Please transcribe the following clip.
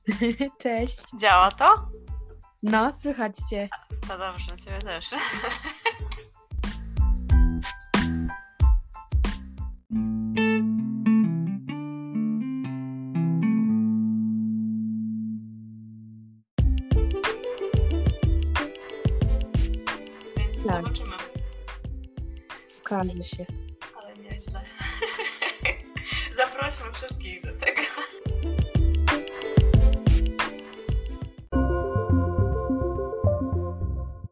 Cześć. Działa to? No, słychać cię. To dobrze, ciebie też. Więc Tak. zobaczymy. Okaże się.